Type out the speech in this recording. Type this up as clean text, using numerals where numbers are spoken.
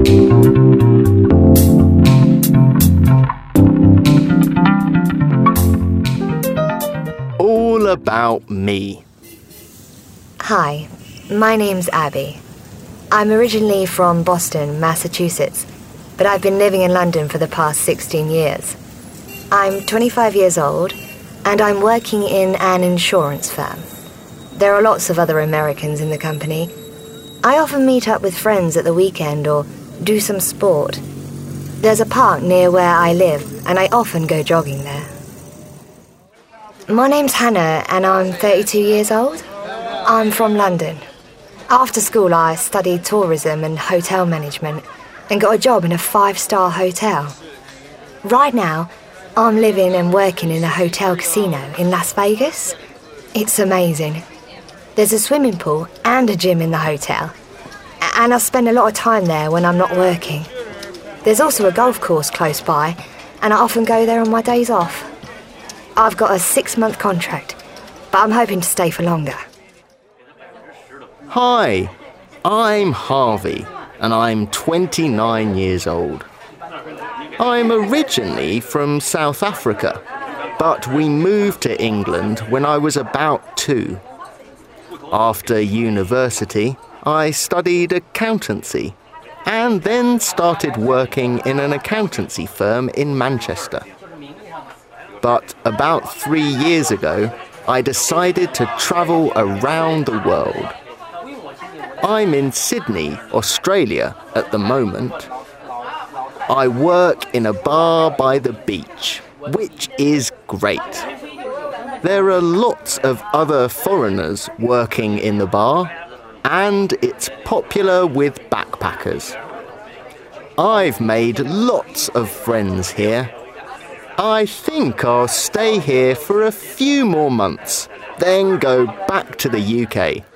All about me. Hi, my name's Abby. I'm originally from Boston, Massachusetts, but I've been living in London for the past 16 years. I'm 25 years old, and I'm working in an insurance firm. There are lots of other Americans in the company. I often meet up with friends at the weekend or do some sport. There's a park near where I live, and I often go jogging there. My name's Hannah, and I'm 32 years old. I'm from London. After school, I studied tourism and hotel management and got a job in a 5-star hotel. Right now, I'm living and working in a hotel casino in Las Vegas. It's amazing. There's a swimming pool and a gym in the hotel, and I spend a lot of time there when I'm not working. There's also a golf course close by, and I often go there on my days off. I've got a 6-month contract, but I'm hoping to stay for longer. Hi, I'm Harvey, and I'm 29 years old. I'm originally from South Africa, but we moved to England when I was about 2. After university, I studied accountancy and then started working in an accountancy firm in Manchester. But about 3 years ago, I decided to travel around the world. I'm in Sydney, Australia at the moment. I work in a bar by the beach, which is great. There are lots of other foreigners working in the bar, and it's popular with backpackers. I've made lots of friends here. I think I'll stay here for a few more months, then go back to the UK.